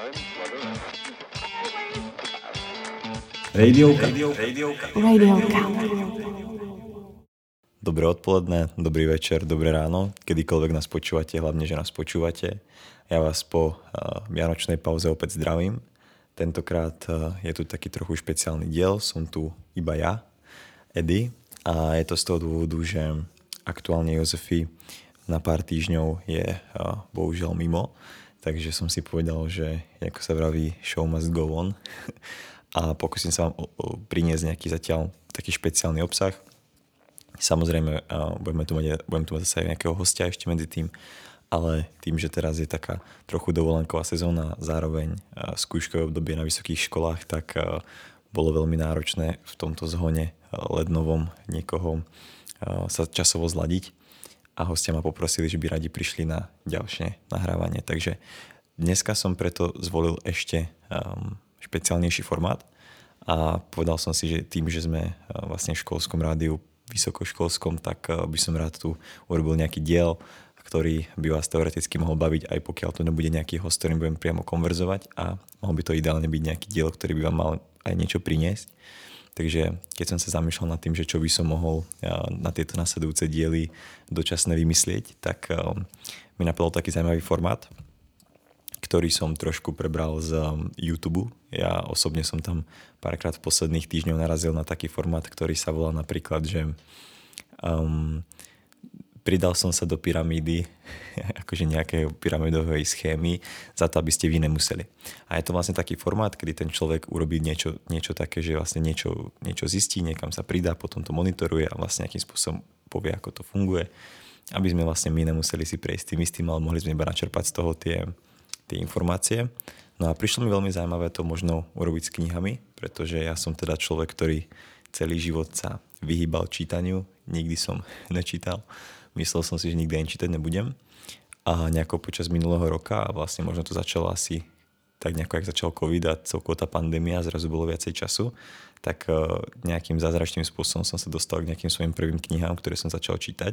Radiovka. Dobré odpoledne, dobrý večer, dobré ráno, kedykoľvek nás počúvate, hlavne, že nás počúvate. Ja vás po vianočnej pauze opäť zdravím. Tentokrát je tu taký trochu špeciálny diel, som tu iba ja, Edy, a je to z toho dôvodu, že aktuálne Jozefi na pár týždňov je bohužiaľ mimo, takže som si povedal, že ako sa vraví, show must go on a pokúsim sa vám priniesť nejaký zatiaľ taký špeciálny obsah. Samozrejme, budem tu mať zase aj nejakého hostia ešte medzi tým, ale tým, že teraz je taká trochu dovolenková sezóna, zároveň skúškové obdobie na vysokých školách, tak bolo veľmi náročné v tomto zhone lednovom niekoho sa časovo zladiť a hostia ma poprosili, že by radi prišli na ďalšie nahrávanie. Takže dneska som preto zvolil ešte špeciálnejší formát a povedal som si, že tým, že sme vlastne v školskom rádiu vysokoškolskom, tak by som rád tu urobil nejaký diel, ktorý by vás teoreticky mohol baviť, aj pokiaľ to nebude nejaký host, ktorým budem priamo konverzovať, a mohol by to ideálne byť nejaký diel, ktorý by vám mal aj niečo priniesť. Takže keď som sa zamýšľal nad tým, že čo by som mohol na tieto nasledujúce diely dočasne vymyslieť, tak mi napadol taký zaujímavý formát, ktorý som trošku prebral z YouTube. Ja osobne som tam párkrát v posledných týždňoch narazil na taký formát, ktorý sa volá napríklad, že pridal som sa do pyramídy, akože nejakej pyramidovej schémy, za to, aby ste vy nemuseli. A je to vlastne taký formát, kedy ten človek urobí niečo také, že vlastne niečo zistí, niekam sa pridá, potom to monitoruje a vlastne nejakým spôsobom povie, ako to funguje, aby sme vlastne my nemuseli si prejsť tým istým, ale mohli sme iba načerpať z toho tie informácie. No a prišlo mi veľmi zaujímavé to možno urobiť s knihami, pretože ja som teda človek, ktorý celý život sa vyhýbal čítaniu, nikdy som nečítal. Myslel som si, že nikdy ani čítať nebudem. A nejako počas minulého roka, a vlastne možno to začalo asi tak nejako, jak začal COVID a celkovo tá pandémia, zrazu bolo viacej času, tak nejakým zázračným spôsobom som sa dostal k nejakým svojim prvým knihám, ktoré som začal čítať.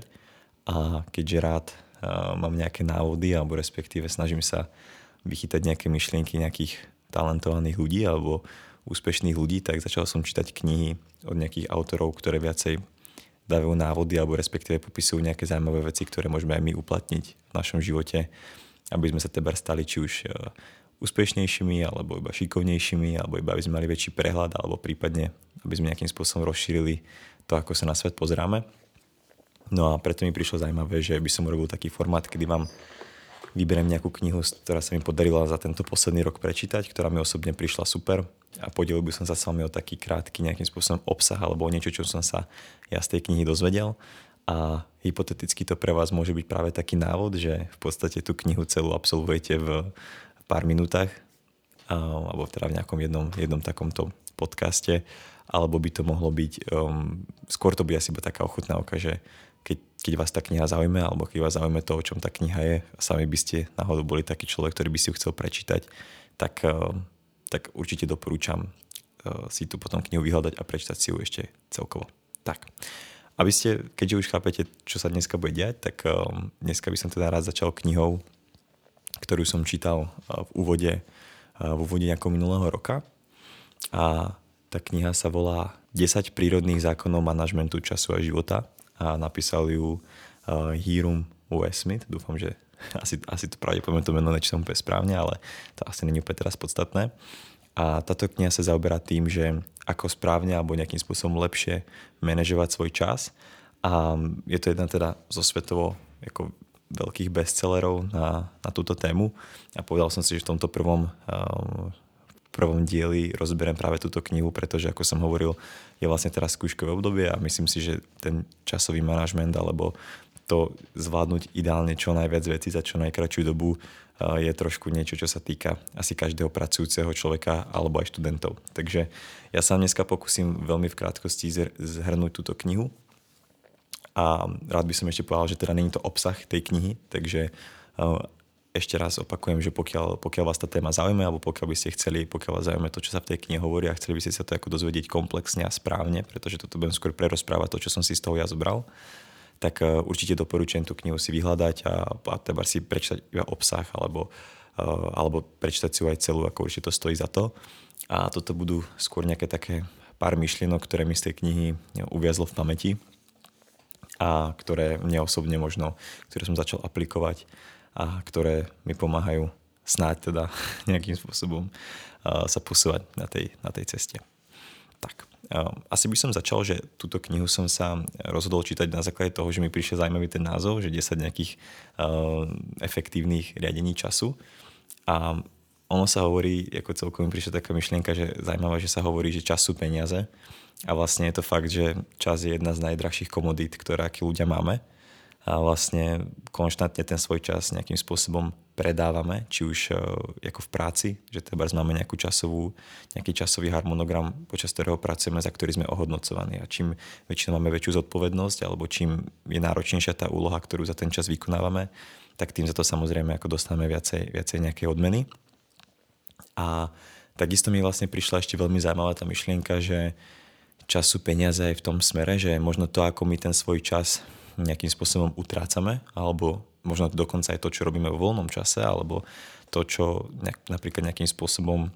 A keďže rád mám nejaké návody, alebo respektíve snažím sa vychytať nejaké myšlienky nejakých talentovaných ľudí alebo úspešných ľudí, tak začal som čítať knihy od nejakých autorov, ktoré viacej dávajú návody alebo respektíve popisujú nejaké zaujímavé veci, ktoré môžeme aj my uplatniť v našom živote, aby sme sa teber stali či už úspešnejšími, alebo iba šikovnejšími, alebo iba aby sme mali väčší prehľad, alebo prípadne aby sme nejakým spôsobom rozšírili to, ako sa na svet pozeráme. No a preto mi prišlo zaujímavé, že by som urobil taký formát, kedy vám vyberiem nejakú knihu, ktorá sa mi podarila za tento posledný rok prečítať, ktorá mi osobne prišla super, a podelil by som sa s vami o taký krátky nejakým spôsobom obsah alebo o niečo, čo som sa ja z tej knihy dozvedel. A hypoteticky to pre vás môže byť práve taký návod, že v podstate tú knihu celú absolvujete v pár minútach, alebo teda v nejakom jednom takomto podcaste, alebo by to mohlo byť, skôr to bude asi iba taká ochutnávka, že keď vás tá kniha zaujme, alebo keď vás zaujme to, o čom tá kniha je, a sami by ste náhodou boli taký človek, ktorý by si ju chcel prečítať, tak určite doporúčam si tu potom knihu vyhľadať a prečítať si ju ešte celkovo. Tak, aby ste, keďže už chápete, čo sa dneska bude diať, tak dneska by som teda rád začal knihou, ktorú som čítal v úvode nejakého minulého roka. A tá kniha sa volá 10 prírodných zákonov manažmentu času a života a napísal ju Hiram U. Smith. Dúfam, že asi to pravdepodobne to meno nečítam úplne správne, ale to asi není úplne teraz podstatné. A táto kniha sa zaoberá tým, že ako správne alebo nejakým spôsobom lepšie manažovať svoj čas. A je to jedna teda zo svetovo ako veľkých bestsellerov na túto tému. A povedal som si, že v tomto prvom dieli rozberiem práve túto knihu, pretože ako som hovoril, je vlastne teraz skúškové obdobie a myslím si, že ten časový manažment alebo to zvládnuť ideálne čo najviac vecí za čo najkratšiu dobu je trošku niečo, čo sa týka asi každého pracujúceho človeka alebo aj študentov. Takže ja sa dneska pokúsim veľmi v krátkosti zhrnúť túto knihu a rád by som ešte povedal, že teda není to obsah tej knihy, takže ešte raz opakujem, že pokiaľ vás tá téma zaujíma, alebo pokiaľ vás zaujíma to, čo sa v tej knihe hovorí a chceli by ste sa to ako dozvedieť komplexne a správne, pretože toto budem skôr prerozprávať to, čo som si z toho ja zobral, tak určite doporučujem tú knihu si vyhľadať a teda si prečítať iba obsah alebo alebo prečítať si ju aj celú, ako určite to stojí za to. A toto budú skôr nejaké také pár myšlienok, ktoré mi z tej knihy uviazlo v pamäti a ktoré mne osobne možno, ktoré som začal aplikovať a ktoré mi pomáhajú snáď teda nejakým spôsobom sa posúvať na tej ceste. Tak, asi by som začal, že túto knihu som sa rozhodol čítať na základe toho, že mi prišiel zaujímavý ten názov, že 10 nejakých efektívnych riadení času. A ono sa hovorí, ako celkom mi prišla taká myšlienka, že zaujímavé, že sa hovorí, že čas sú peniaze. A vlastne je to fakt, že čas je jedna z najdrahších komodít, ktoré akí ľudia máme. A vlastne konštantne ten svoj čas nejakým spôsobom predávame, či už ako v práci, že teda máme nejaký časový harmonogram, počas ktorého pracujeme, za ktorý sme ohodnocovaní. A čím väčšinou máme väčšiu zodpovednosť, alebo čím je náročnejšia tá úloha, ktorú za ten čas vykonávame, tak tým za to samozrejme ako dostávame viacej nejakej odmeny. A takisto mi vlastne prišla ešte veľmi zaujímavá tá myšlienka, že čas sú peniaze aj v tom smere, že možno to, ako my ten svoj čas nejakým spôsobom utrácame, alebo možno dokonca aj to, čo robíme vo voľnom čase, alebo to, čo napríklad nejakým spôsobom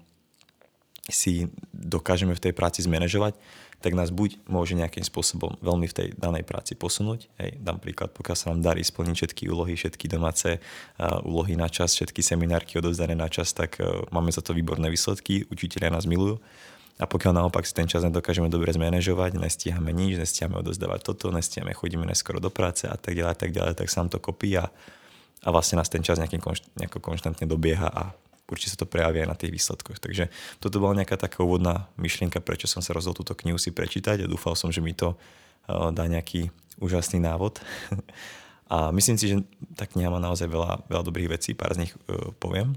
si dokážeme v tej práci zmanéžovať, tak nás buď môže nejakým spôsobom veľmi v tej danej práci posunúť. Hej, dám príklad, pokiaľ sa nám darí splniť všetky úlohy, všetky domáce úlohy na čas, všetky seminárky odovzdané na čas, tak máme za to výborné výsledky, učitelia nás milujú. A pokiaľ naopak si ten čas nedokážeme dobre zmanéžovať, nestíhame nič, nestíhame odozdávať toto, nestíhame, chodíme neskoro do práce a tak ďalej, tak sa nám to kopí a vlastne nás ten čas nejako konštantne dobieha a určite sa to prejaví aj na tých výsledkoch. Takže toto bola nejaká taká úvodná myšlienka, prečo som sa rozhodol túto knihu si prečítať a dúfal som, že mi to dá nejaký úžasný návod. A myslím si, že tá kniha má naozaj veľa dobrých vecí, pár z nich poviem.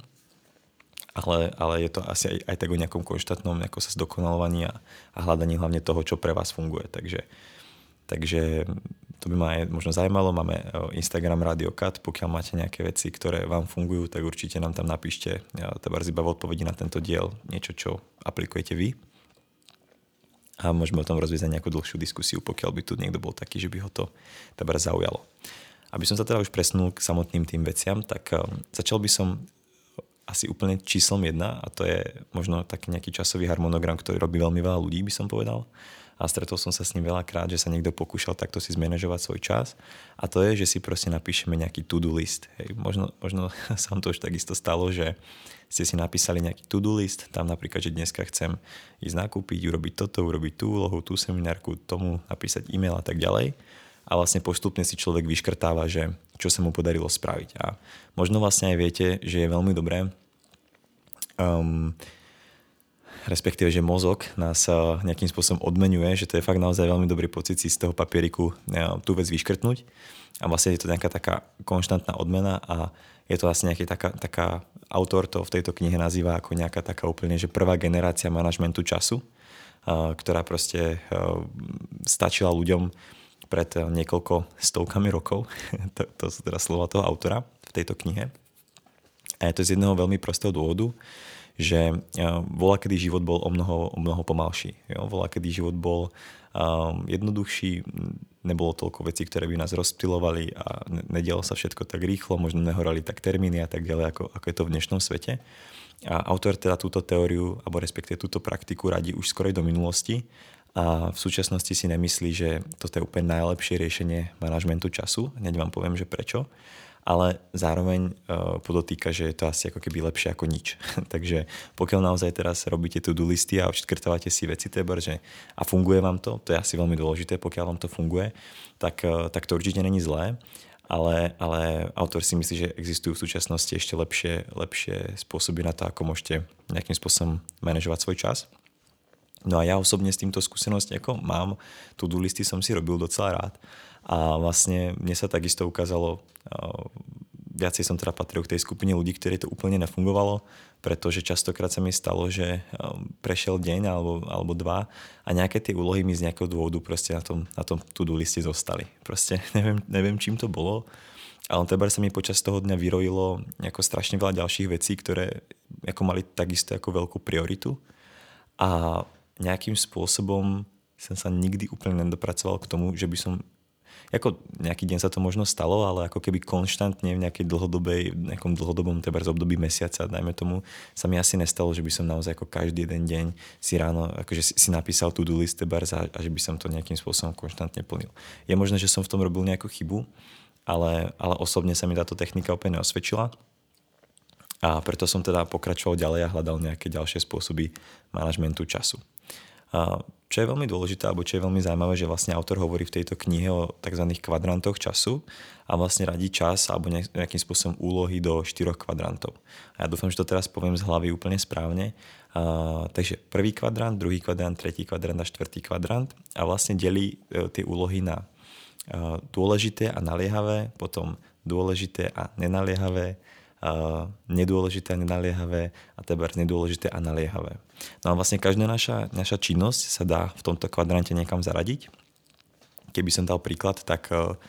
Ale je to asi aj tak o nejakom konštantnom sa zdokonalovaní a hľadaní hlavne toho, čo pre vás funguje. Takže to by ma aj možno zaujímalo. Máme Instagram Radio Cut. Pokiaľ máte nejaké veci, ktoré vám fungujú, tak určite nám tam napíšte iba v odpovedi na tento diel niečo, čo aplikujete vy. A môžeme o tom rozviesť nejakú dlhšiu diskusiu, pokiaľ by tu niekto bol taký, že by ho to zaujalo. Aby som sa teda už presunul k samotným tým veciam, tak začal by som asi úplne číslom 1 a to je možno taký nejaký časový harmonogram, ktorý robí veľmi veľa ľudí, by som povedal. A stretol som sa s ním veľakrát, že sa niekto pokúšal takto si zmanéžovať svoj čas a to je, že si proste napíšeme nejaký to-do list. Hej. Možno sa vám to už takisto stalo, že ste si napísali nejaký to-do list, tam napríklad, že dneska chcem ísť nakúpiť, urobiť toto, urobiť tú úlohu, tú seminárku, tomu napísať e-mail a tak ďalej. A vlastne postupne si človek vyškrtáva, že čo sa mu podarilo spraviť. A možno vlastne aj viete, že je veľmi dobré, respektíve, že mozog nás nejakým spôsobom odmenuje, že to je fakt naozaj veľmi dobrý pocit si z toho papieriku tú vec vyškrtnúť. A vlastne je to nejaká taká konštantná odmena a je to vlastne nejaká taká autor to v tejto knihe nazýva ako nejaká taká úplne, že prvá generácia manažmentu času, ktorá proste stačila ľuďom pred niekoľko stovkami rokov. To sú teda slova toho autora v tejto knihe. A je to z jedného veľmi prostého dôvodu, že voľakedy život bol o mnoho pomalší. Voľakedy život bol jednoduchší, nebolo toľko vecí, ktoré by nás rozptylovali a nedialo sa všetko tak rýchlo, možno nehorali tak termíny a tak ďalej, ako je to v dnešnom svete. A autor teda túto teóriu, alebo respektíve túto praktiku radí už skorej do minulosti a v súčasnosti si nemyslí, že toto je úplne najlepšie riešenie manažmentu času. Hneď vám poviem, že prečo. Ale zároveň podotýka, že je to asi ako keby lepšie ako nič. Takže pokiaľ naozaj teraz robíte to-do listy a odškrtávate si veci, že a funguje vám to je asi veľmi dôležité, pokiaľ vám to funguje, tak to určite není zlé. Ale autor si myslí, že existujú v súčasnosti ešte lepšie spôsoby na to, ako môžete nejakým spôsobom manažovať svoj čas. No a ja osobne s týmto skúsenosť ako mám, to-do listy som si robil docela rád a vlastne mne sa takisto ukázalo, viacej som teda patril k tej skupine ľudí, ktorí to úplne nefungovalo, pretože častokrát sa mi stalo, že prešiel deň alebo dva a nejaké tie úlohy mi z nejakého dôvodu proste na tom to-do liste zostali. Proste neviem čím to bolo, ale teda sa mi počas toho dňa vyrojilo nejako strašne veľa ďalších vecí, ktoré ako mali takisto ako veľkú prioritu a nejakým spôsobom som sa nikdy úplne nedopracoval k tomu, že by som Ako nejaký deň sa to možno stalo, ale ako keby konštantne v nejakom dlhodobom trebárs období mesiaca, dajme tomu, sa mi asi nestalo, že by som naozaj ako každý jeden deň si ráno akože si napísal to-do list trebárs a že by som to nejakým spôsobom konštantne plnil. Je možné, že som v tom robil nejakú chybu, ale osobne sa mi táto technika úplne neosvedčila. A preto som teda pokračoval ďalej a hľadal nejaké ďalšie spôsoby manažmentu času. A čo je veľmi dôležité, alebo čo je veľmi zaujímavé, že vlastne autor hovorí v tejto knihe o tzv. Kvadrantoch času a vlastne radí čas alebo nejakým spôsobom úlohy do 4 kvadrantov. A ja dúfam, že to teraz poviem z hlavy úplne správne. Takže prvý kvadrant, druhý kvadrant, tretí kvadrant a štvrtý kvadrant a vlastne delí tie úlohy na dôležité a naliehavé, potom dôležité a nenaliehavé, nedôležité a nenaliehavé a trebárs nedôležité a naliehavé. No a vlastne každá naša činnosť sa dá v tomto kvadrante niekam zaradiť. Keby som dal príklad, tak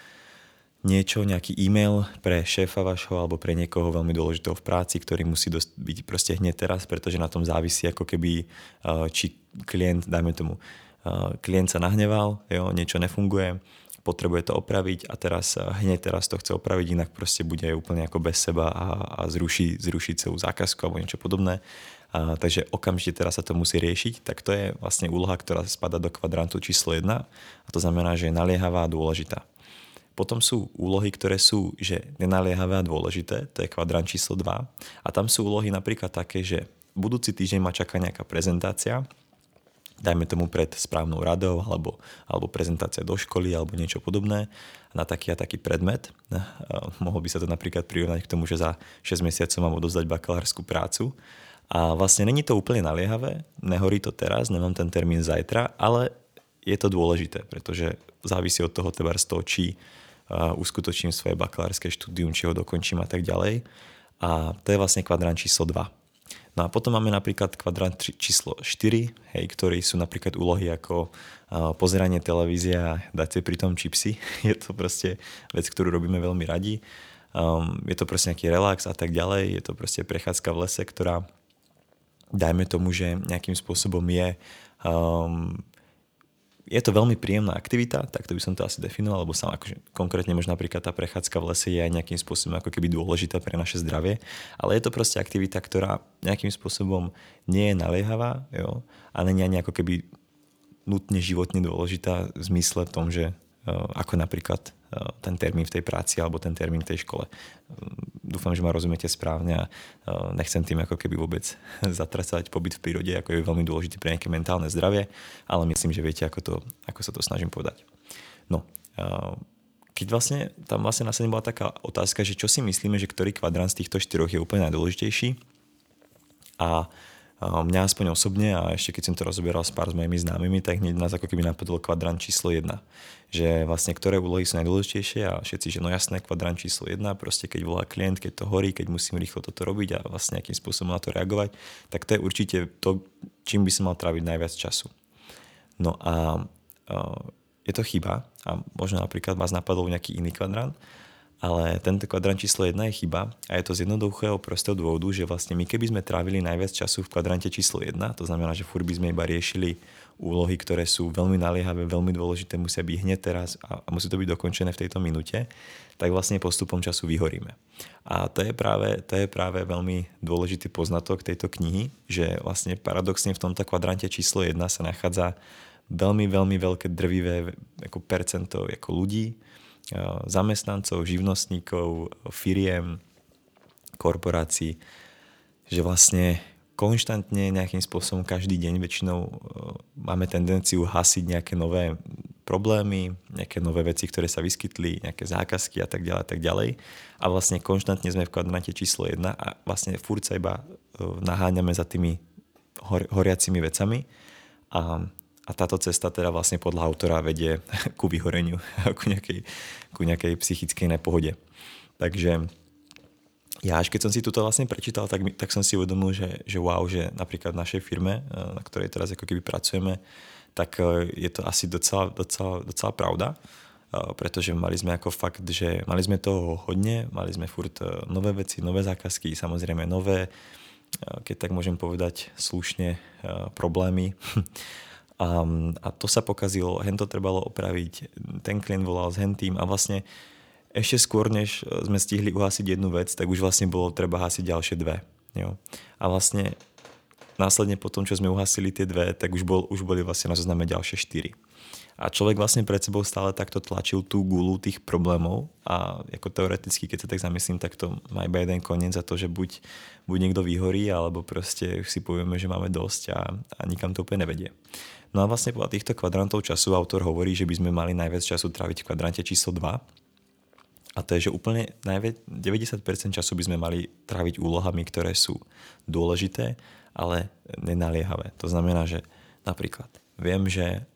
nejaký e-mail pre šéfa vašho alebo pre niekoho veľmi dôležitého v práci, ktorý musí byť proste hneď teraz, pretože na tom závisí ako keby či klient, dajme tomu, klient sa nahneval, niečo nefunguje, potrebuje to opraviť a hneď teraz to chce opraviť, inak proste bude úplne ako bez seba a zruší celú zákazku alebo niečo podobné. Takže okamžite teraz sa to musí riešiť, tak to je vlastne úloha, ktorá spadá do kvadrantu číslo 1 a to znamená, že je naliehavá a dôležitá. Potom sú úlohy, ktoré sú že nenaliehavé a dôležité, to je kvadrant číslo 2 a tam sú úlohy napríklad také, že budúci týždeň ma čaká nejaká prezentácia, dajme tomu pred správnou radou alebo prezentácia do školy alebo niečo podobné na taký a taký predmet. Mohol by sa to napríklad prirovnať k tomu, že za 6 mesiacov mám odovzdať bakalárskú prácu a vlastne není to úplne naliehavé, nehorí to teraz, nemám ten termín zajtra, ale je to dôležité, pretože závisí od toho či uskutočním svoje bakalárske štúdium, či ho dokončím a tak ďalej. A to je vlastne kvadrant číslo 2. No a potom máme napríklad kvadrant číslo 4, ktorý sú napríklad úlohy ako pozeranie televízie a dať si pri tom čipsy. Je to proste vec, ktorú robíme veľmi radi. Je to proste nejaký relax a tak ďalej. Je to proste prechádzka v lese, ktorá dajme tomu, že nejakým spôsobom je to veľmi príjemná aktivita, tak to by som to asi definoval, lebo sám akože konkrétne možno napríklad tá prechádzka v lese je aj nejakým spôsobom ako keby dôležitá pre naše zdravie, ale je to proste aktivita, ktorá nejakým spôsobom nie je naliehavá, ale nie je ako keby nutne životne dôležitá v zmysle v tom, že ako napríklad ten termín v tej práci alebo ten termín v tej škole. Dúfam, že ma rozumiete správne a nechcem tým ako keby vôbec zatracať pobyt v prírode, ako je veľmi dôležitý pre nejaké mentálne zdravie, ale myslím, že viete, ako sa to snažím povedať. No, keď tam následne bola taká otázka, že čo si myslíme, že ktorý kvadrant z týchto 4 je úplne najdôležitejší a mňa aspoň osobne a ešte keď som to rozoberal s pár s mojimi známymi, tak hneď nás ako keby napadol kvadrant číslo 1. Že vlastne ktoré úlohy sú najdôležitejšie a všetci, že no jasné, kvadrant číslo 1, proste keď volá klient, keď to horí, keď musím rýchlo toto robiť a vlastne nejakým spôsobom na to reagovať, tak to je určite to, čím by som mal tráviť najviac času. No a je to chyba a možno napríklad vás napadol nejaký iný kvadrant, ale tento kvadrant číslo 1 je chyba a je to z jednoduchého prostého dôvodu, že vlastne my keby sme trávili najviac času v kvadrante číslo 1, to znamená, že furt by sme iba riešili úlohy, ktoré sú veľmi naliehavé, veľmi dôležité, musia byť hneď teraz a musí to byť dokončené v tejto minúte, tak vlastne postupom času vyhoríme. A to je práve veľmi dôležitý poznatok tejto knihy, že vlastne paradoxne v tomto kvadrante číslo 1 sa nachádza veľmi, veľmi veľké drvivé ako percento ako ľudí, zamestnancov, živnostníkov, firiem, korporácií, že vlastne konštantne nejakým spôsobom každý deň väčšinou máme tendenciu hasiť nejaké nové problémy, nejaké nové veci, ktoré sa vyskytli, nejaké zákazky a tak ďalej. A vlastne konštantne sme v kvadrante číslo 1 a vlastne furt sa iba naháňame za tými horiacimi vecami a táto cesta teda vlastne podľa autora vedie ku vyhoreniu, ku nejakej psychickej nepohode. Takže ja až keď som si toto vlastne prečítal, tak som si uvedomil, že wow, že napríklad v našej firme, na ktorej teraz ako keby pracujeme, tak je to asi docela pravda, pretože mali sme ako fakt, že mali sme toho hodne, mali sme furt nové veci, nové zákazky, samozrejme nové, keď tak môžem povedať slušne, problémy. A to sa pokazilo, hento trebalo opraviť, ten klient volal s hentým a vlastne ešte skôr, než sme stihli uhasiť jednu vec, tak už vlastne bolo treba hasiť ďalšie dve. Jo. A vlastne následne po tom, čo sme uhasili tie dve, tak už boli vlastne na zozname ďalšie 4. A človek vlastne pred sebou stále takto tlačil tú gulu tých problémov a ako teoreticky, keď sa tak zamyslím, tak to má iba jeden koniec za to, že buď niekto vyhorí, alebo proste si povieme, že máme dosť a nikam to úplne nevedie. No a vlastne podľa týchto kvadrantov času autor hovorí, že by sme mali najviac času tráviť v kvadrante číslo 2. A to je, že úplne 90% času by sme mali tráviť úlohami, ktoré sú dôležité, ale nenaliehavé. To znamená, že napríklad viem,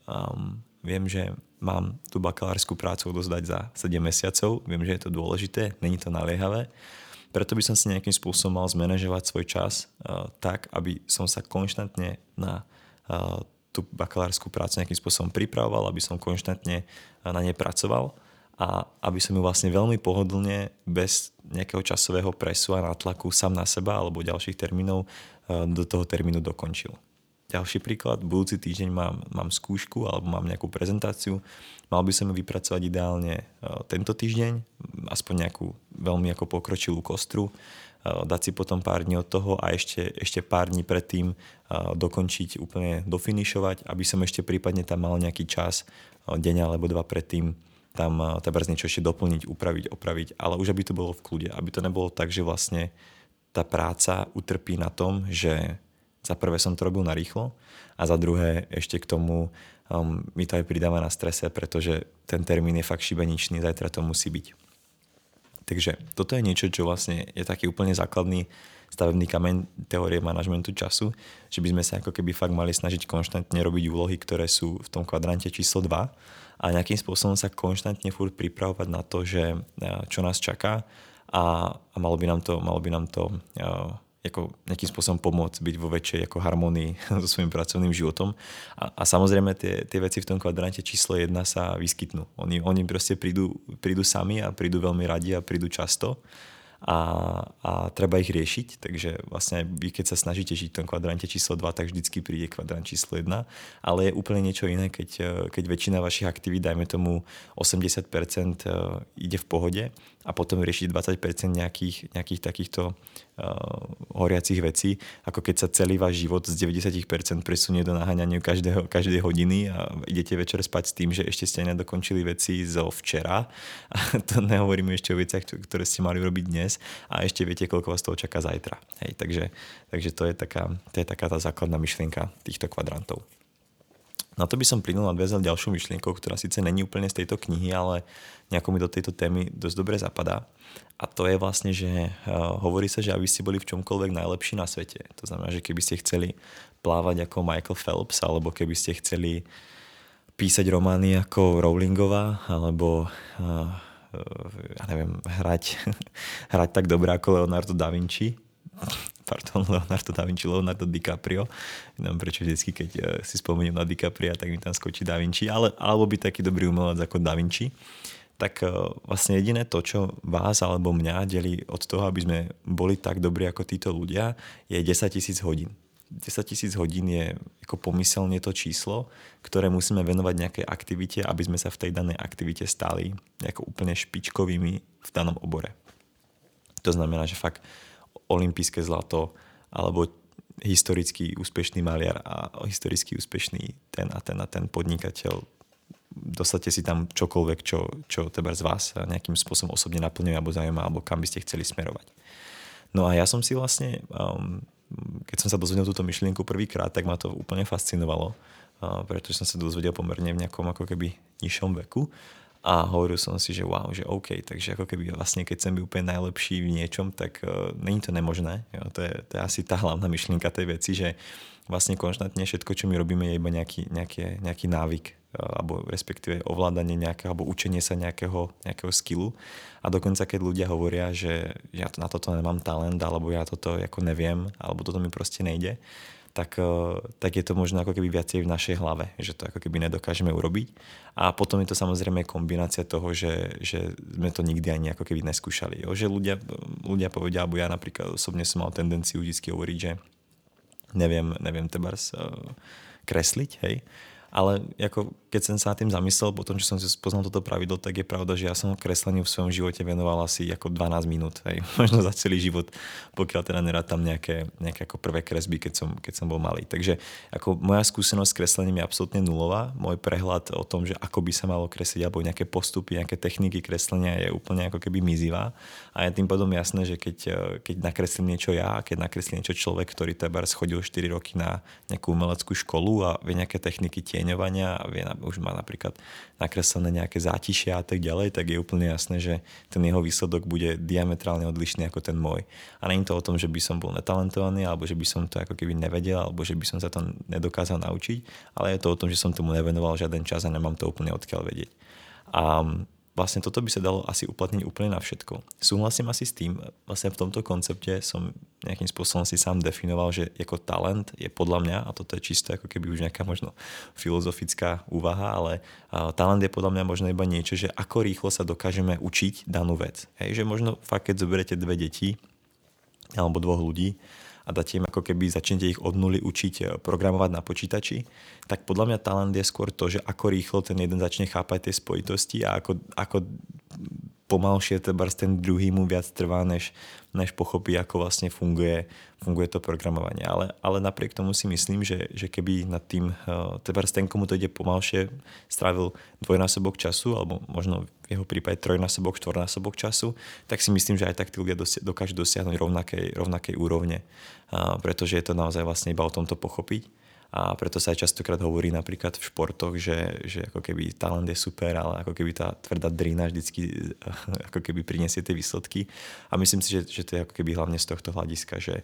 že mám tú bakalárskú prácu odozdať za 7 mesiacov, viem, že je to dôležité, není to naliehavé, preto by som si nejakým spôsobom mal zmanéžovať svoj čas tak, aby som sa konštantne na tú bakalárskú prácu nejakým spôsobom pripravoval, aby som konštantne na nej pracoval a aby som ju vlastne veľmi pohodlne, bez nejakého časového presu a nátlaku sám na seba alebo ďalších termínov do toho termínu dokončil. Ďalší príklad, budúci týždeň mám skúšku alebo mám nejakú prezentáciu, mal by som ju vypracovať ideálne tento týždeň, aspoň nejakú veľmi ako pokročilú kostru, dať si potom pár dní od toho a ešte pár dní predtým dokončiť, úplne dofinišovať, aby som ešte prípadne tam mal nejaký čas, deň alebo dva predtým, tam niečo ešte doplniť, upraviť, opraviť, ale už aby to bolo v kľude, aby to nebolo tak, že vlastne tá práca utrpí na tom, že za prvé som to robil narýchlo a za druhé ešte k tomu mi to aj pridáva na strese, pretože ten termín je fakt šibeničný, zajtra to musí byť. Takže toto je niečo, čo vlastne je taký úplne základný stavebný kameň teórie manažmentu času, že by sme sa ako keby fakt mali snažiť konštantne robiť úlohy, ktoré sú v tom kvadrante číslo 2 a nejakým spôsobom sa konštantne furt pripravovať na to, že čo nás čaká a malo by nám to ako nejakým spôsobom pomôcť byť vo väčšej ako harmonii so svojím pracovným životom. A samozrejme tie veci v tom kvadrante číslo 1 sa vyskytnú. Oni proste prídu sami a prídu veľmi radi a prídu často a treba ich riešiť. Takže vlastne vy, keď sa snažíte žiť v tom kvadrante číslo 2, tak vždycky príde kvadrant číslo 1. Ale je úplne niečo iné, keď väčšina vašich aktivít, dajme tomu 80% ide v pohode a potom riešiť 20% nejakých takýchto horiacich vecí, ako keď sa celý váš život z 90% presunie do naháňania každej hodiny a idete večer spať s tým, že ešte ste nedokončili veci zo včera. A to nehovoríme ešte o veciach, ktoré ste mali robiť dnes a ešte viete, koľko vás toho čaká zajtra. Hej, takže to je taká tá základná myšlienka týchto kvadrantov. Na to by som plynul nadviazal ďalšou myšlienkou, ktorá síce není úplne z tejto knihy, ale nejako mi do tejto témy dosť dobre zapadá. A to je vlastne, že hovorí sa, že aby ste boli v čomkoľvek najlepší na svete. To znamená, že keby ste chceli plávať ako Michael Phelps, alebo keby ste chceli písať romány ako Rowlingová, alebo ja neviem, hrať tak dobre ako Leonardo da Vinci, Leonardo DiCaprio. Neviem prečo vždycky, keď si spomeniem na DiCapria, tak mi tam skočí Da Vinci, alebo byť taký dobrý umelec ako Da Vinci. Tak vlastne jediné to, čo vás alebo mňa delí od toho, aby sme boli tak dobrí ako títo ľudia, je 10 000 hodín. 10 000 hodín je ako pomyselne to číslo, ktoré musíme venovať nejakej aktivite, aby sme sa v tej danej aktivite stali ako úplne špičkovými v danom obore. To znamená, že fakt olympijské zlato alebo historicky úspešný maliar a historicky úspešný ten podnikateľ. Dostate si tam čokoľvek, čo teba z vás nejakým spôsobom osobne naplňuje alebo zaujíma, alebo kam by ste chceli smerovať. No a ja som si vlastne, keď som sa dozvedel túto myšlienku prvýkrát, tak ma to úplne fascinovalo, pretože som sa dozvedel pomerne v nejakom ako keby nižšom veku. A hovoril som si, že wow, že OK, takže ako keby vlastne keď chcem byť úplne najlepší v niečom, tak není to nemožné. Jo, to je asi tá hlavná myšlienka tej veci, že vlastne konštantne všetko, čo my robíme, je iba nejaký návyk alebo respektíve ovládanie nejakého alebo učenie sa nejakého skillu. A dokonca keď ľudia hovoria, že ja na toto nemám talent alebo ja toto ako neviem alebo toto mi proste nejde, tak je to možno ako keby viacej v našej hlave, že to ako keby nedokážeme urobiť. A potom je to samozrejme kombinácia toho, že sme to nikdy ani ako keby neskúšali. Jo? Že ľudia povedia, alebo ja napríklad osobne som mal tendenciu vždy hovoriť, že neviem tebars kresliť, hej. Ale ako, keď som sa nad tým zamyslel, po tom, čo som si poznal toto pravidlo, tak je pravda, že ja som kresleniu v svojom živote venoval asi ako 12 minút, hej. Možno za celý život, pokiaľ teda nerátam nejaké ako prvé kresby, keď som bol malý. Takže ako moja skúsenosť s kreslením je absolútne nulová. Môj prehľad o tom, že ako by sa malo kresliť, alebo nejaké postupy, nejaké techniky kreslenia je úplne ako keby mizivá. A je tým pádom jasné, že keď nakreslím niečo ja, keď nakreslí niečo človek, ktorý tebárs chodil 4 roky na nejakú umeleckú školu a vie nejaké techniky tieňovania a už má napríklad nakreslené nejaké zátišia a tak ďalej, tak je úplne jasné, že ten jeho výsledok bude diametrálne odlišný ako ten môj. A nie je to o tom, že by som bol netalentovaný, alebo že by som to ako keby nevedel, alebo že by som sa to nedokázal naučiť, ale je to o tom, že som tomu nevenoval žiaden čas a nemám to úplne odkiaľ vedieť. A vlastne toto by sa dalo asi uplatniť úplne na všetko. Súhlasím asi s tým, vlastne v tomto koncepte som nejakým spôsobom si sám definoval, že ako talent je podľa mňa, a toto je čisto ako keby už nejaká možno filozofická úvaha, ale talent je podľa mňa možno iba niečo, že ako rýchlo sa dokážeme učiť danú vec. Hej, že možno fakt, keď zoberiete 2 deti alebo 2 ľudí a dáte im ako keby, začnete ich od nuly učiť programovať na počítači, tak podľa mňa talent je skôr to, že ako rýchlo ten jeden začne chápať tie spojitosti a ako pomalšie ten druhý mu viac trvá, než pochopí, ako vlastne funguje to programovanie. Ale napriek tomu si myslím, že keby nad tým ten, komu to ide pomalšie, strávil dvojnásobok času, alebo možno v jeho prípade trojnásobok, štvornásobok času, tak si myslím, že aj tak tí ľudia dokážu dosiahnuť rovnakej úrovne. Pretože je to naozaj vlastne iba o tomto pochopiť. A preto sa aj častokrát hovorí napríklad v športoch, že ako keby talent je super, ale ako keby tá tvrdá drina vždycky ako keby prinesie tie výsledky. A myslím si, že to je ako keby hlavne z tohto hľadiska, že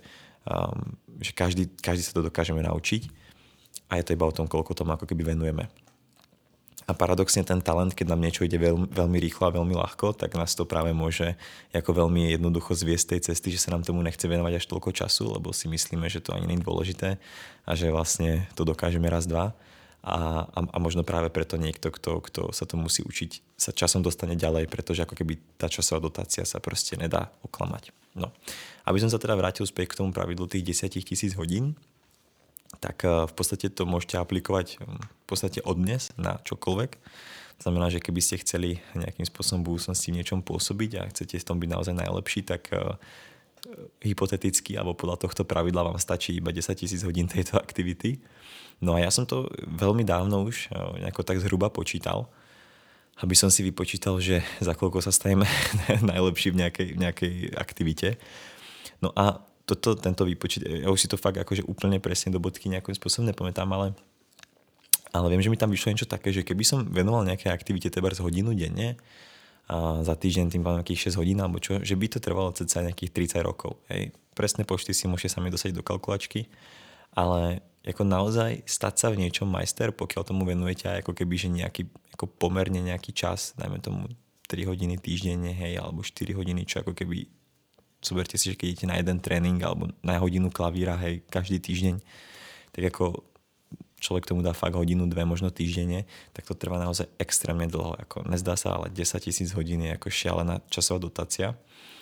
každý sa to dokážeme naučiť a je to iba o tom, koľko tomu ako keby venujeme. A paradoxne ten talent, keď nám niečo ide veľmi rýchlo a veľmi ľahko, tak nás to práve môže ako veľmi jednoducho zviesť tej cesty, že sa nám tomu nechce venovať až toľko času, lebo si myslíme, že to ani nie je dôležité a že vlastne to dokážeme raz, dva. A možno práve preto niekto, kto sa to musí učiť, sa časom dostane ďalej, pretože ako keby tá časová dotácia sa proste nedá oklamať. No. Aby som sa teda vrátil späť k tomu pravidlu tých 10 000 hodín, tak v podstate to môžete aplikovať v podstate od dnes na čokoľvek. Znamená, že keby ste chceli nejakým spôsobom v budúcnosti v niečom pôsobiť a chcete v tom byť naozaj najlepší, tak hypoteticky alebo podľa tohto pravidla vám stačí iba 10 000 hodín tejto aktivity. No a ja som to veľmi dávno už nejako tak zhruba počítal, aby som si vypočítal, že za koľko sa staneme najlepší v nejakej aktivite. No a tento výpočet, ja už si to fakt akože úplne presne do bodky nejakým spôsobom nepamätám, ale viem, že mi tam vyšlo niečo také, že keby som venoval nejaké aktivite tebárs hodinu denne a za týždeň tým pádom nejakých 6 hodín alebo čo, že by to trvalo cca nejakých 30 rokov. Hej. Presné počty si môžete sami dosať do kalkulačky, ale ako naozaj stať sa v niečom majster, pokiaľ tomu venujete aj ako keby, že nejaký, ako pomerne nejaký čas, dajme tomu 3 hodiny týždenne, hej, alebo 4 hodiny, čo ako keby zoberte si, že keď idete na jeden tréning alebo na hodinu klavíra, hej, každý týždeň, tak ako človek tomu dá fakt hodinu, 2 možno týždenne, tak to trvá naozaj extrémne dlho. Ako nezdá sa, ale 10 000 hodín je ako šialená časová dotácia.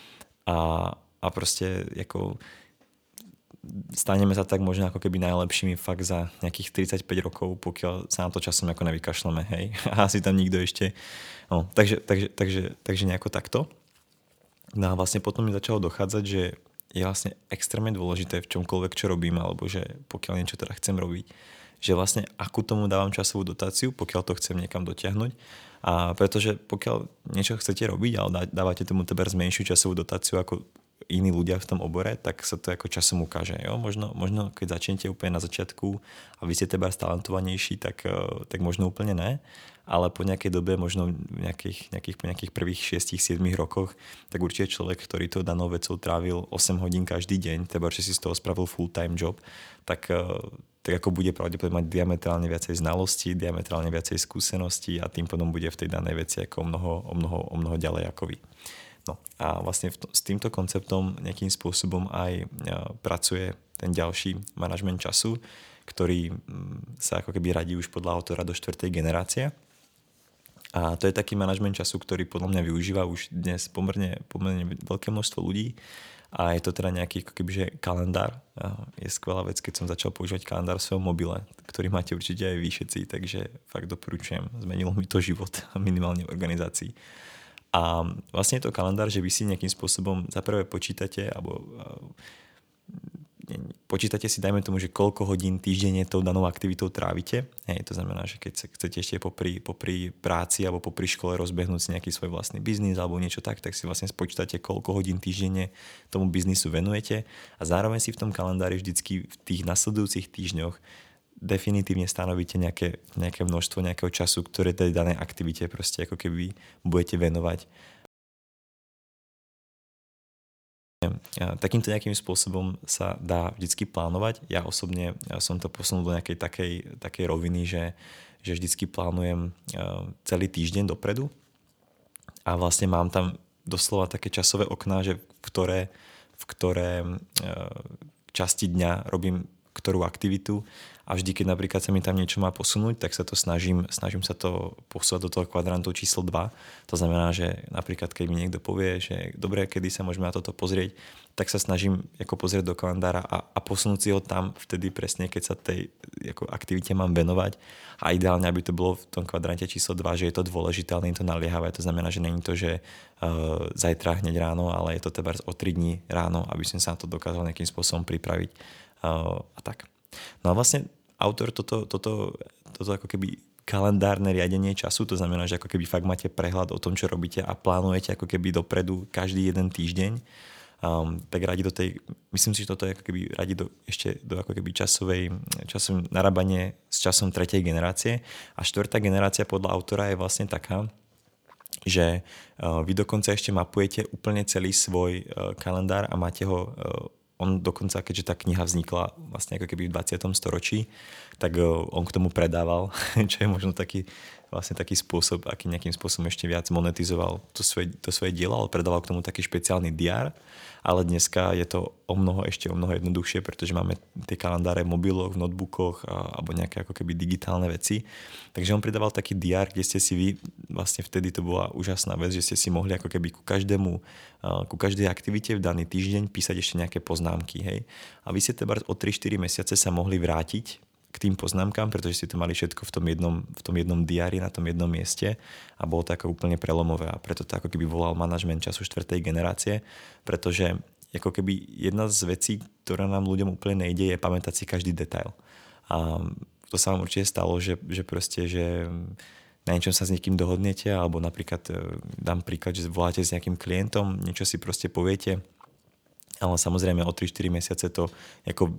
A proste ako staneme sa tak možno ako keby najlepšími fakt za nejakých 35 rokov, pokiaľ sa na to časom ako nevykašleme, hej. A asi tam nikto ešte. No, takže nejako takto. No a vlastne potom mi začalo dochádzať, že je vlastne extrémne dôležité v čomkoľvek, čo robím, alebo že pokiaľ niečo teda chcem robiť, že vlastne akú tomu dávam časovú dotáciu, pokiaľ to chcem niekam dotiahnuť. A pretože pokiaľ niečo chcete robiť, ale dávate tomu tebárs menšiu časovú dotáciu ako iní ľudia v tom obore, tak sa to ako časom ukáže. Jo? Možno keď začnete úplne na začiatku a vy ste tebárs talentovanejší, tak možno úplne ne. Ale po nejakej dobe, možno v nejakých prvých 6-7 rokoch, tak určite človek, ktorý to danou vecou trávil 8 hodín každý deň, tebárs, že si z toho spravil full-time job, tak ako bude pravdepodobne mať diametrálne viacej znalostí, diametrálne viacej skúseností a tým potom bude v tej danej veci ako o mnoho ďalej ako vy. No a vlastne s týmto konceptom nejakým spôsobom aj pracuje ten ďalší manažment času, ktorý sa ako keby radí už podľa autora do 4. generácie. A to je taký manažment času, ktorý podľa mňa využíva už dnes pomerne veľké množstvo ľudí. A je to teda nejaký ako kebyže kalendár. Je skvelá vec, keď som začal používať kalendár v svojom mobile, ktorý máte určite aj vy všetci, takže fakt doporučujem. Zmenilo mi to život minimálne v organizácii. A vlastne je to kalendár, že vy si nejakým spôsobom za prvé počítate, alebo počítate si, dajme tomu, že koľko hodín týždenne tou danou aktivitou trávite. Hej, to znamená, že keď sa chcete ešte popri práci alebo popri škole rozbehnúť si nejaký svoj vlastný biznis alebo niečo tak si vlastne spočítate, koľko hodín týždenne tomu biznisu venujete a zároveň si v tom kalendári vždycky v tých nasledujúcich týždňoch definitívne stanovíte nejaké množstvo nejakého času, ktoré tej danej aktivite proste ako keby budete venovať. Takýmto nejakým spôsobom sa dá vždycky plánovať. Ja osobne som to posunul do nejakej takej roviny, že vždycky plánujem celý týždeň dopredu a vlastne mám tam doslova také časové okná, že v ktoré časti dňa robím ktorú aktivitu a vždy, keď napríklad sa mi tam niečo má posunúť, tak sa to snažím sa to posúvať do toho kvadrantu číslo 2. To znamená, že napríklad keď mi niekto povie, že dobre, kedy sa môžeme na toto pozrieť, tak sa snažím ako pozrieť do kalendára a posunúť si ho tam vtedy presne, keď sa tej ako aktivite mám venovať a ideálne, aby to bolo v tom kvadrante číslo 2, že je to dôležité, ale nie je to naliehavé. To znamená, že není to, že zajtra hneď ráno, ale je to teda o 3 dní ráno, aby som sa na to dokázal nejakým spôsobom pripraviť. A tak. No a vlastne autor toto ako keby kalendárne riadenie času, to znamená, že ako keby fakt máte prehľad o tom, čo robíte a plánujete ako keby dopredu každý jeden týždeň, tak radi do tej, myslím si, že toto je ako keby radi ešte do ako keby časové narábanie s časom 3. generácie a 4. generácia podľa autora je vlastne taká, že vy dokonca ešte mapujete úplne celý svoj kalendár a máte ho on dokonca, keďže tá kniha vznikla vlastne ako keby v 20. storočí, tak on k tomu predával, čo je možno taký spôsob, aký nejakým spôsobom ešte viac monetizoval to svoje dielo, ale predával k tomu taký špeciálny diár, ale dneska je to o mnoho jednoduchšie, pretože máme tie kalendáre v mobiloch, v notebookoch alebo nejaké ako keby digitálne veci. Takže on pridával taký diár, kde ste si vy, vlastne vtedy to bola úžasná vec, že ste si mohli ako keby ku každej aktivite v daný týždeň písať ešte nejaké poznámky. Hej? A vy ste teda o 3-4 mesiace sa mohli vrátiť k tým poznámkam, pretože si to mali všetko v tom jednom diári, na tom jednom mieste a bolo to ako úplne prelomové a preto to ako keby volal manažment času 4. generácie, pretože ako keby jedna z vecí, ktorá nám ľuďom úplne nejde, je pamätať si každý detail. A to sa vám určite stalo, že proste, že na niečom sa s niekým dohodnete alebo napríklad dám príklad, že voláte s nejakým klientom, niečo si proste poviete, ale samozrejme o 3-4 mesiace to ako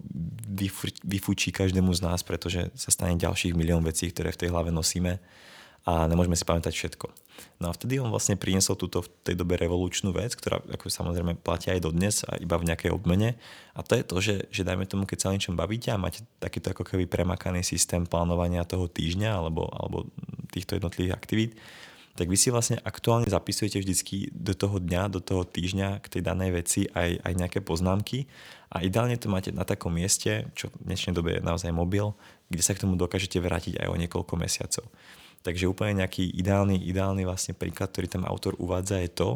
vyfúčí každému z nás, pretože sa stane ďalších milión vecí, ktoré v tej hlave nosíme a nemôžeme si pamätať všetko. No a vtedy on vlastne priniesol túto v tej dobe revolučnú vec, ktorá ako samozrejme platí aj dodnes a iba v nejakej obmene. A to je to, že dajme tomu, keď sa o niečom bavíte a máte takýto ako keby premakaný systém plánovania toho týždňa alebo týchto jednotlivých aktivít, tak vy si vlastne aktuálne zapisujete vždycky do toho dňa, do toho týždňa k tej danej veci aj nejaké poznámky a ideálne to máte na takom mieste, čo v dnešnej dobe je naozaj mobil, kde sa k tomu dokážete vrátiť aj o niekoľko mesiacov. Takže úplne nejaký ideálny vlastne príklad, ktorý tam autor uvádza je to,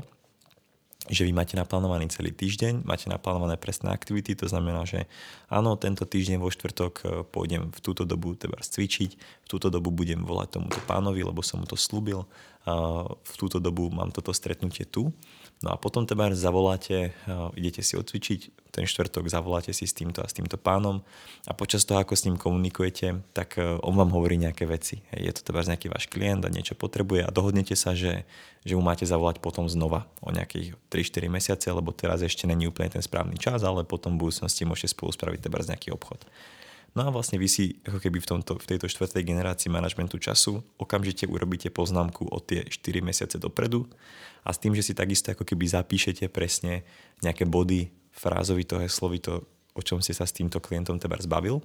že vy máte naplánovaný celý týždeň, máte naplánované presné aktivity, to znamená, že áno, tento týždeň vo štvrtok pôjdem v túto dobu teda cvičiť, v túto dobu budem volať tomuto pánovi, lebo som mu to slúbil, v túto dobu mám toto stretnutie tu. No a potom teda zavoláte, idete si odcvičiť, ten štvrtok zavoláte si s týmto a s týmto pánom a počas toho, ako s ním komunikujete, tak on vám hovorí nejaké veci. Je to teda nejaký váš klient a niečo potrebuje a dohodnete sa, že mu máte zavolať potom znova o nejakých 3-4 mesiace, lebo teraz ešte není úplne ten správny čas, ale potom v budúcnosti môžete spolu spraviť teda nejaký obchod. No a vlastne vy si ako keby v tejto 4. generácii manažmentu času okamžite urobíte poznámku o tie 4 mesiace dopredu a s tým, že si takisto ako keby zapíšete presne nejaké body, frázovito, heslovito, o čom ste sa s týmto klientom teda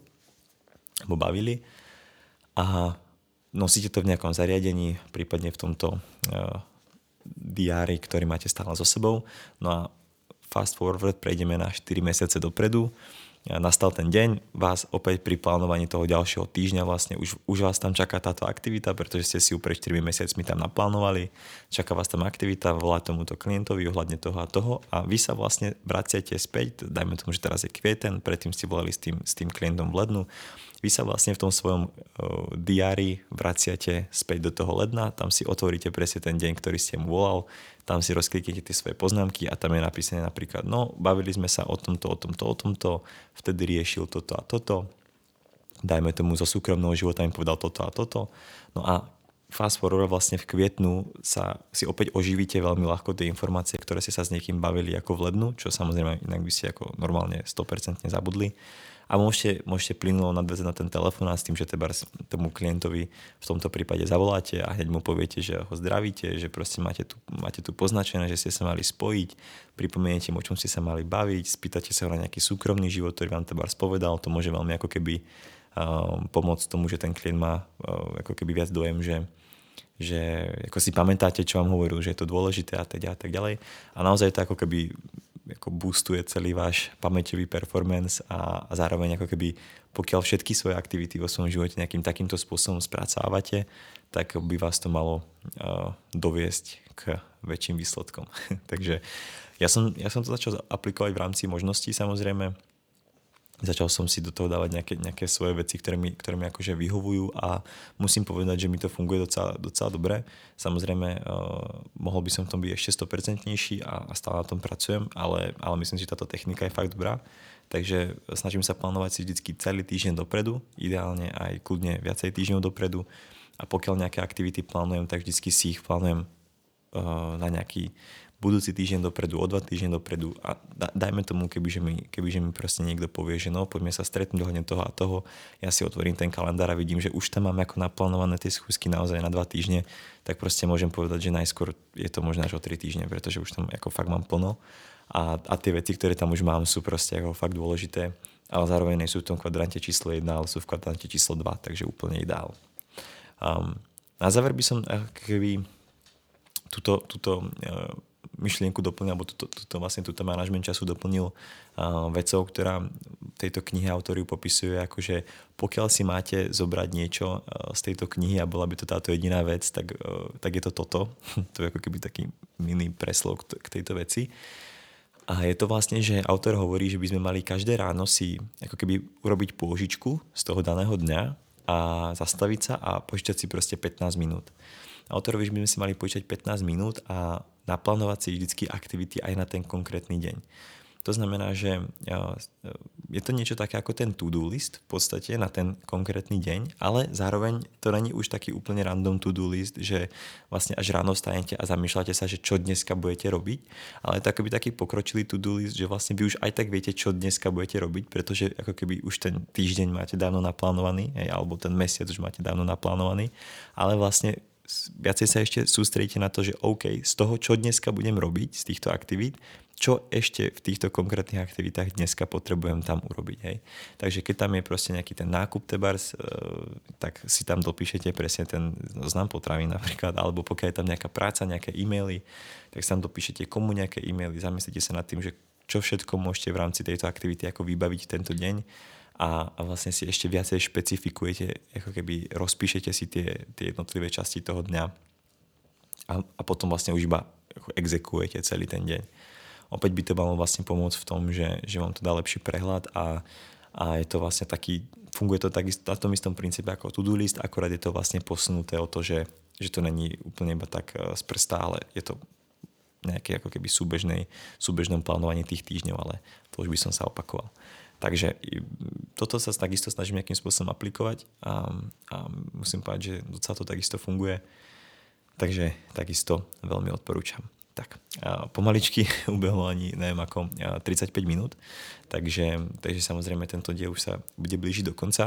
bavili a nosíte to v nejakom zariadení, prípadne v tomto diári, ktorý máte stále so sebou. No a fast forward prejdeme na 4 mesiace dopredu nastal ten deň, vás opäť pri plánovaní toho ďalšieho týždňa vlastne už vás tam čaká táto aktivita, pretože ste si ju pred 4 mesiacmi tam naplánovali, čaká vás tam aktivita, volá tomuto klientovi ohľadne toho a toho a vy sa vlastne vraciate späť, dajme tomu, že teraz je kvieten, predtým ste volali s tým klientom v lednu, vy sa vlastne v tom svojom diári vraciate späť do toho ledna, tam si otvoríte presne ten deň, ktorý ste mu volal, tam si rozkliknete tie svoje poznámky a tam je napísané napríklad, no, bavili sme sa o tomto, vtedy riešil toto a toto, dajme tomu zo súkromného života mi povedal toto a toto, no a fast forward vlastne v kvietnu si opäť oživíte veľmi ľahko tie informácie, ktoré ste sa s niekým bavili ako v lednu, čo samozrejme inak by ste ako normálne 100% zabudli. A môžete plynulo nadväzať na ten telefón a s tým, že tomu klientovi v tomto prípade zavoláte a hneď mu poviete, že ho zdravíte, že proste máte tu poznačené, že ste sa mali spojiť, pripomeniete mu, o čom ste sa mali baviť, spýtate sa ho na nejaký súkromný život, ktorý vám tebárs povedal, to môže veľmi ako keby pomôcť tomu, že ten klient má ako keby viac dojem, že ako si pamätáte, čo vám hovoril, že je to dôležité a tak ďalej. A naozaj to ako keby ako boostuje celý váš pamäťový performance a zároveň ako keby pokiaľ všetky svoje aktivity vo svojom živote nejakým takýmto spôsobom spracávate, tak by vás to malo doviesť k väčším výsledkom. Takže ja som to začal aplikovať v rámci možností samozrejme. Začal som si do toho dávať nejaké svoje veci, ktoré mi akože vyhovujú a musím povedať, že mi to funguje docela dobre. Samozrejme, mohol by som v tom byť ešte 100% a stále na tom pracujem, ale myslím si, že táto technika je fakt dobrá. Takže snažím sa plánovať si vždycky celý týždeň dopredu, ideálne aj kľudne viacej týždňov dopredu a pokiaľ nejaké aktivity plánujem, tak vždycky si ich plánujem na nejaký budúci týždeň dopredu, o 2 týždne dopredu a dajme tomu, kebyže mi proste niekto povie, že no, poďme sa stretnúť ohľadne toho a toho, ja si otvorím ten kalendár a vidím, že už tam mám ako naplánované tie schôzky naozaj na 2 týždne, tak proste môžem povedať, že najskôr je to možno až o 3 týždne, pretože už tam ako fakt mám plno a tie veci, ktoré tam už mám, sú proste ako fakt dôležité, ale zároveň nie sú v tom kvadrante číslo 1, ale sú v kvadrante číslo 2, takže úplne ideál. Na záver by som keby túto myšlienku doplnil, alebo túto manažment času doplnil vecou, ktorá v tejto knihe autor ju popisuje, akože pokiaľ si máte zobrať niečo z tejto knihy a bola by to táto jediná vec, tak je to toto. To je ako keby taký mini preslov k tejto veci. A je to vlastne, že autor hovorí, že by sme mali každé ráno si ako keby urobiť pôžičku z toho daného dňa a zastaviť sa a počítať si proste 15 minút. Autor hovorí, že by sme si mali počítať 15 minút a naplánovať si vždycky aktivity aj na ten konkrétny deň. To znamená, že je to niečo také ako ten to-do list v podstate na ten konkrétny deň, ale zároveň to není už taký úplne random to-do list, že vlastne až ráno vstanete a zamýšľate sa, že čo dneska budete robiť, ale to akoby taký pokročilý to-do list, že vlastne vy už aj tak viete, čo dneska budete robiť, pretože ako keby už ten týždeň máte dávno naplánovaný, alebo ten mesiac už máte dávno naplánovaný, ale vlastne viacej sa ešte sústredíte na to, že OK, z toho, čo dneska budem robiť, z týchto aktivít, čo ešte v týchto konkrétnych aktivitách dneska potrebujem tam urobiť. Hej. Takže keď tam je proste nejaký ten nákup tebars, tak si tam dopíšete presne ten zoznam potravín napríklad, alebo pokiaľ je tam nejaká práca, nejaké e-maily, tak si tam dopíšete komu nejaké e-maily, zamyslite sa nad tým, že čo všetko môžete v rámci tejto aktivity ako vybaviť tento deň a vlastne si ešte viacej špecifikujete, ako keby rozpíšete si tie jednotlivé časti toho dňa a potom vlastne už iba exekujete celý ten deň. Opäť by to malo vlastne pomôcť v tom, že vám to dá lepší prehľad a je to vlastne taký, funguje to takisto na tom istom princípe ako to-do list, akorát je to vlastne posunuté o to, že to není úplne iba tak z prsta, ale je to nejaké ako keby súbežnom plánovaní tých týždňov, ale to už by som sa opakoval. Takže toto sa takisto snažím nejakým spôsobom aplikovať a musím povedať, že docela to takisto funguje. Takže takisto veľmi odporúčam. Tak, pomaličky ubehlo ani neviem ako 35 minút, takže samozrejme tento diel už sa bude blížiť do konca.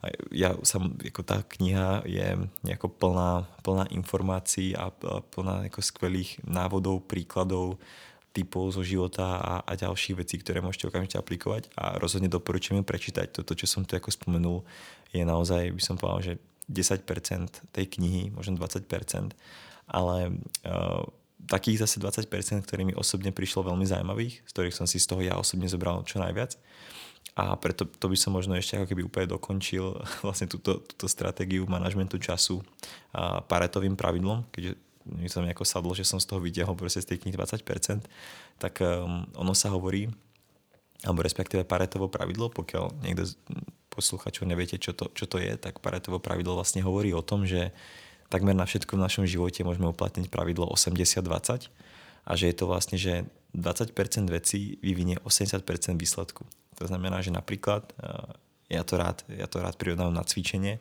Ako tá kniha je nejako plná informácií a plná ako skvelých návodov, príkladov, typov zo života a ďalších vecí, ktoré môžete okamžite aplikovať a rozhodne doporučujem ju prečítať. Toto, čo som tu ako spomenul, je naozaj, by som povedal, že 10% tej knihy, možno 20%, ale takých zase 20%, ktorými osobne prišlo veľmi zaujímavých, z ktorých som si z toho ja osobne zobral čo najviac. A preto to by som možno ešte ako keby úplne dokončil vlastne túto stratégiu manažmentu času Paretovým pravidlom, keďže mi to nejako sadlo, že som z toho vytiahol proste z tej knihy 20%, tak ono sa hovorí, alebo respektíve Paretovo pravidlo, pokiaľ niekto z posluchačov neviete, čo to je, tak Paretovo pravidlo vlastne hovorí o tom, že takmer na všetko v našom živote môžeme uplatniť pravidlo 80-20 a že je to vlastne, že 20% vecí vyvinie 80% výsledku. To znamená, že napríklad ja to rád prirovnávam na cvičenie,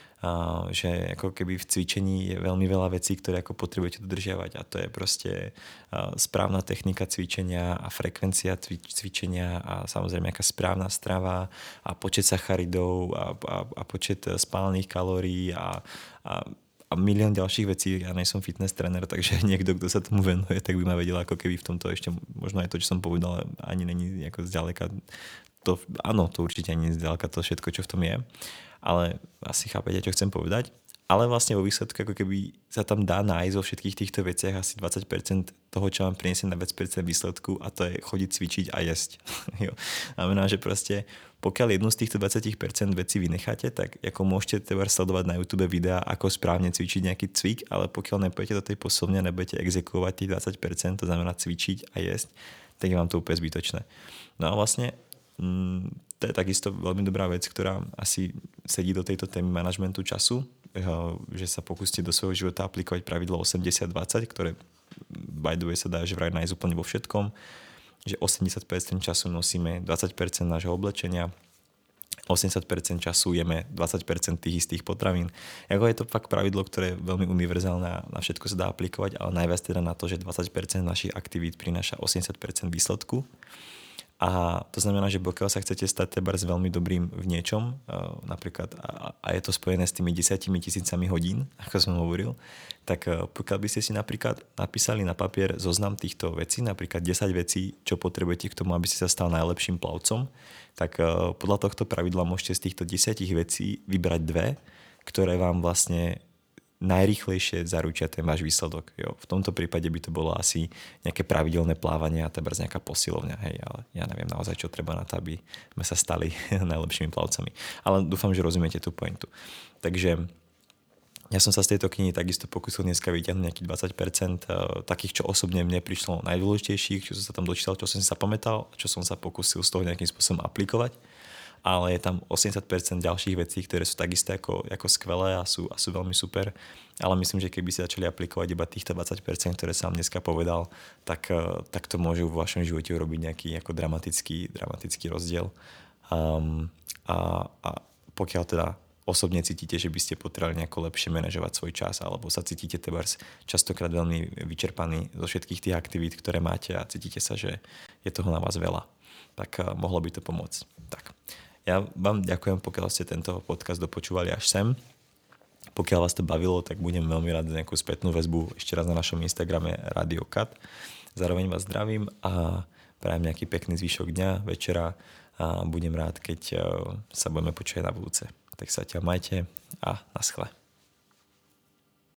že ako keby v cvičení je veľmi veľa vecí, ktoré ako potrebujete dodržiavať a to je proste správna technika cvičenia a frekvencia cvičenia a samozrejme aká správna strava a počet sacharidov a počet spálených kalórií a milión ďalších vecí. Ja nie som fitness tréner, takže niekto, kto sa tomu venuje, tak by ma vedel ako keby v tomto ešte možno aj to, čo som povedal, ani není ako zďaleka to, áno, to určite ani zďaleka to všetko, čo v tom je. Ale asi chápete, čo chcem povedať. Ale vlastne vo výsledku ako keby sa tam dá nájsť vo všetkých týchto veciach asi 20% toho, čo vám priniesie na 20% výsledku a to je chodiť cvičiť a jesť. Jo. Znamená, že proste pokiaľ jednu z týchto 20% vecí vynecháte, tak ako môžete teda sledovať na YouTube videá, ako správne cvičiť nejaký cvik, ale pokiaľ nepôjdete do tej poslovne a nebudete exekuovať tých 20%, to znamená cvičiť a jesť, tak je vám to úplne zbytočné. No a vlastne to je takisto veľmi dobrá vec, ktorá asi sedí do tejto témy manažmentu času, že sa pokúste do svojho života aplikovať pravidlo 80-20, ktoré by the way sa dá že vraj nájsť úplne vo všetkom, že 80% času nosíme 20% nášho oblečenia, 80% času jeme 20% tých istých potravín. Jako je to fakt pravidlo, ktoré je veľmi univerzálne a na všetko sa dá aplikovať, ale najviac teda na to, že 20% našich aktivít prináša 80% výsledku. A to znamená, že pokiaľ sa chcete stať tebárs veľmi dobrým v niečom, napríklad, a je to spojené s tými 10 000 hodín, ako som hovoril, tak pokiaľ by ste si napríklad napísali na papier zoznam týchto vecí, napríklad 10 vecí, čo potrebujete k tomu, aby ste sa stal najlepším plavcom, tak podľa tohto pravidla môžete z týchto 10 vecí vybrať dve, ktoré vám vlastne najrýchlejšie zaručia ten váš výsledok. Jo. V tomto prípade by to bolo asi nejaké pravidelné plávanie a tebárs nejaká posilovňa. Hej, ale ja neviem naozaj, čo treba na to, aby sme sa stali najlepšími plavcami. Ale dúfam, že rozumiete tú pointu. Takže ja som sa z tejto knihy takisto pokúsil dneska vyťahnuť nejakých 20% takých, čo osobne mne prišlo najdôležitejších, čo som sa tam dočítal, čo som si zapamätal, čo som sa pokúsil z toho nejakým spôsobom aplikovať. Ale je tam 80% ďalších vecí, ktoré sú takisto ako skvelé a sú veľmi super. Ale myslím, že keby ste začali aplikovať iba týchto 20%, ktoré som vám dneska povedal, tak to môže vo vašom živote urobiť nejaký ako dramatický rozdiel. A pokiaľ teda osobne cítite, že by ste potrebovali nejako lepšie manažovať svoj čas alebo sa cítite tebárs častokrát veľmi vyčerpaní zo všetkých tých aktivít, ktoré máte a cítite sa, že je toho na vás veľa, tak mohlo by to pomôcť. Tak. Ja vám ďakujem, pokiaľ ste tento podcast dopočúvali až sem. Pokiaľ vás to bavilo, tak budem veľmi rád za nejakú spätnú väzbu ešte raz na našom Instagrame Radio Cut. Zároveň vás zdravím a prajem nejaký pekný zvyšok dňa, večera a budem rád, keď sa budeme počuť na budúce. Tak sa ťa majte a naschle.